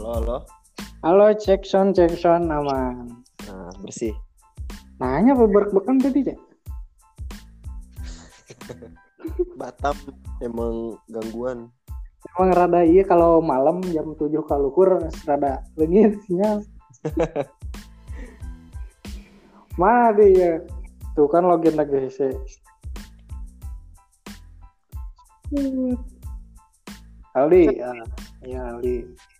Halo. Halo, cek sound aman. Nah, bersih. Nanya apa bekan tadi, Cek? Batam emang gangguan. Emang rada iya kalau malam jam 7 kaluhur rada leungit sinyal. Mana dia? Tuh kan login lagi sih. Aldi, ya Aldi.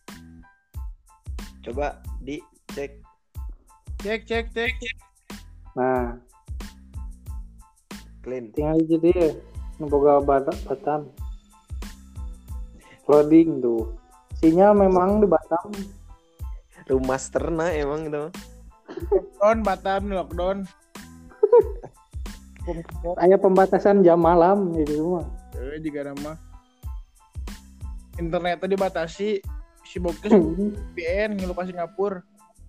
Coba dicek. Cek. Nah, Clean. tinggal aja dia. Boga Batam. Loading tuh. Sinyal memang di Batam. Remasterna emang itu. Lockdown. Hanya pembatasan jam malam di rumah. Juga nama internetnya dibatasi, si Bokes VPN ngelupas Singapura.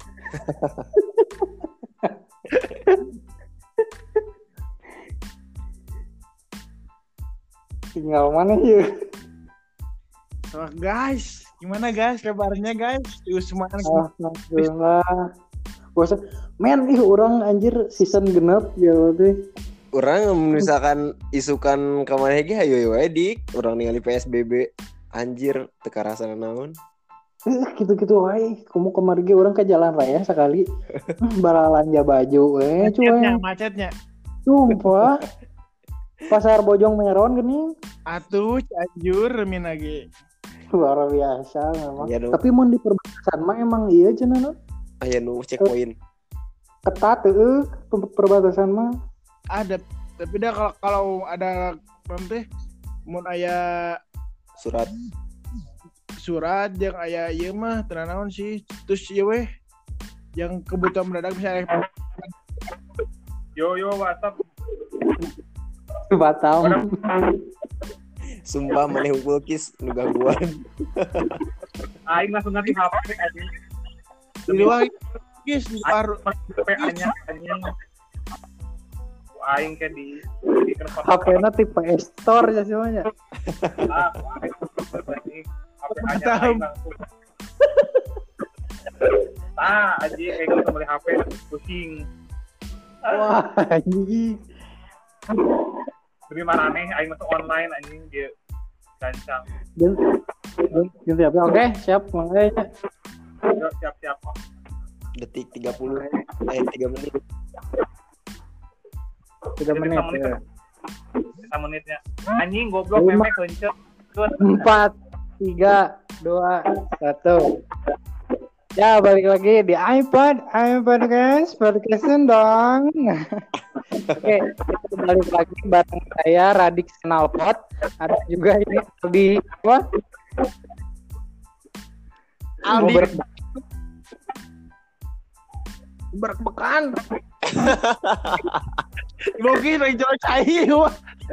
Tinggal mana ya? So, guys, gimana guys kabarnya guys? Usman. Alhamdulillah. Bosan. Men, orang anjir season genep ya tuh. Orang misalkan isukan kemana lagi ayo dik. Orang ningali PSBB anjir teka rasa naon. Gitu-gitu wae. Kamu kemarin ge orang ke jalan raya sekali. Balanja baju Macetnya. Sumpah. Pasar Bojong Meron geuning. Atuh Cianjur min lagi. Luar biasa memang. Ya, tapi mau di perbatasan mah emang iya cenah. Aya nu checkpoint. Ketat teh perbatasan mah. Ada, tapi dah kalau ada nanti mun aya surat yang aya ieu mah teu naon sih. Terus ieu weh yang kebutuhan mendadak misalnya yo WhatsApp Batam. Sumpah maneh unggul kis nu gangguan. Aing langsung ngasih HP anjing. di luar guys baru PA-nya anjing. Aing ke di HP-na tipe Store ya semuanya. HP-nya aing langsung. Anjing kayak gitu kembali HP pusing. Wah, anjing. Demi marane aing masuk online anjing dia gancang. Ganti apa? Oke, siap mulai. Yo, siap. Detik 30 3 menit. 3 menit ya. 3 menitnya. Anjing goblok memek kencet. 4 3 2 1. Ya, balik lagi di iPod guys, podcastin dong. Oke, kita balik lagi bareng saya Radik Senalpot. Ada juga ini Aldi apa? Aldi berbekan. Logi lagi jalan cair.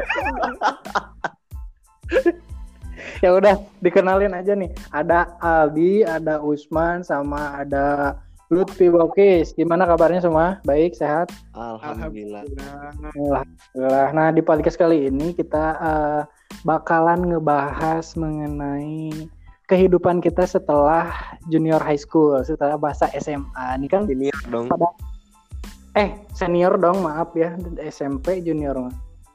Ya udah dikenalin aja nih. Ada Aldi, ada Usman, sama ada Lutfi Bokis. Gimana kabarnya semua? Baik, sehat? Alhamdulillah. Alhamdulillah. Nah, di podcast kali ini kita bakalan ngebahas mengenai kehidupan kita setelah junior high school, setelah bahasa SMA. Ini kan Senior dong. Senior dong, maaf ya. SMP junior mah.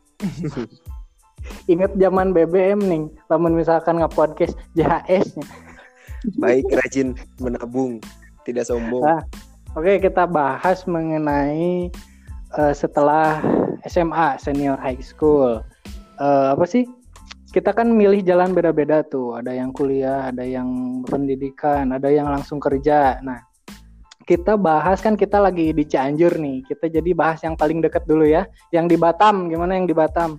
Ingat zaman BBM nih, lamun misalkan nge-podcast JHS-nya. Baik, rajin menabung, tidak sombong. Nah, oke, kita bahas mengenai setelah SMA, senior high school. Apa sih? Kita kan milih jalan beda-beda tuh. Ada yang kuliah, ada yang pendidikan, ada yang langsung kerja. Nah, kita bahas kan kita lagi di Cianjur nih. Kita jadi bahas yang paling dekat dulu ya. Yang di Batam, gimana yang di Batam?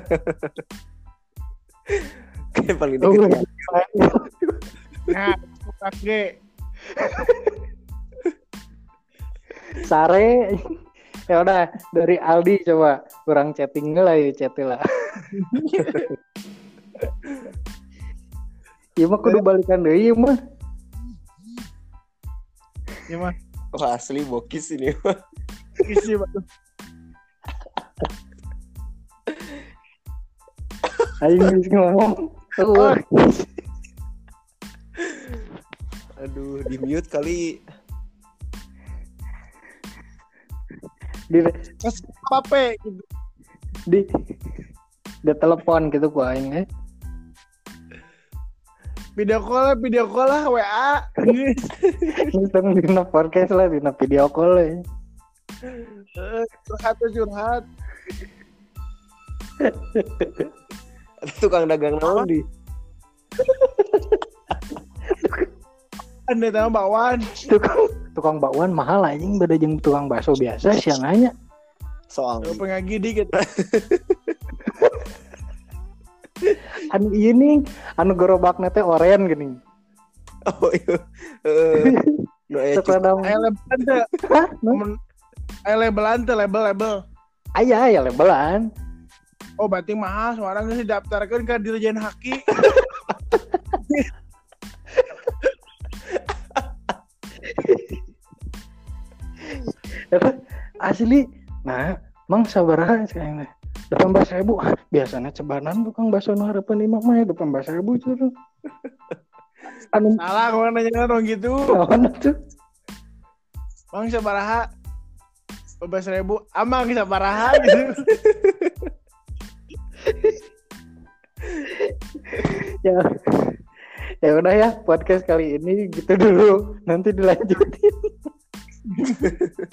Kayak paling deket ya. Nah, G. Sare. Ya udah, dari Aldi coba kurang chatting lah ya, chat lah. Iya mah kudu balikan deui mah. Gimana? Wah, asli bokis ini. Isi batu. Aing ngomong. Aduh. Di mute kali. di Pas apa gitu. di telepon gitu ku aing Video call lah WA. Ngitung dina podcast lah dina video call Curhat. Tukang dagang naon di. Anda tahu bakwan. tukang bakwan mahal anjing beda jeung tukang bakso biasa sianganya. Soalnya Pengagi dikit. Anu ini anu gerobakna teh oren geuning. oh iya. No Sekarang Label hah? label. Aya labelan. Oh, berarti mahal. Sekarang geus didaftarkeun ka Dirjen Haki. Asli. Nah, mang sabaraha sekarang 18.000 biasanya cebanan tukang bakso nu harapan imah mah 18.000 tuh. Anu Salah kau nanya dong gitu. naon tuh? Bang sabaraha 12.000 amang sabaraha gitu. Ya. Ya udah ya, podcast kali ini gitu dulu. Nanti dilanjutin.